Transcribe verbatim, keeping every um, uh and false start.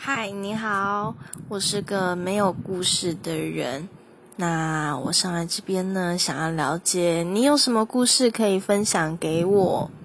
嗨，你好，我是个没有故事的人。那我上来这边呢，想要了解你有什么故事可以分享给我。